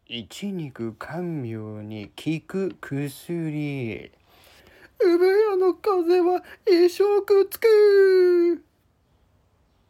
一肉甘妙に効く薬。産屋の風は一生くっつく。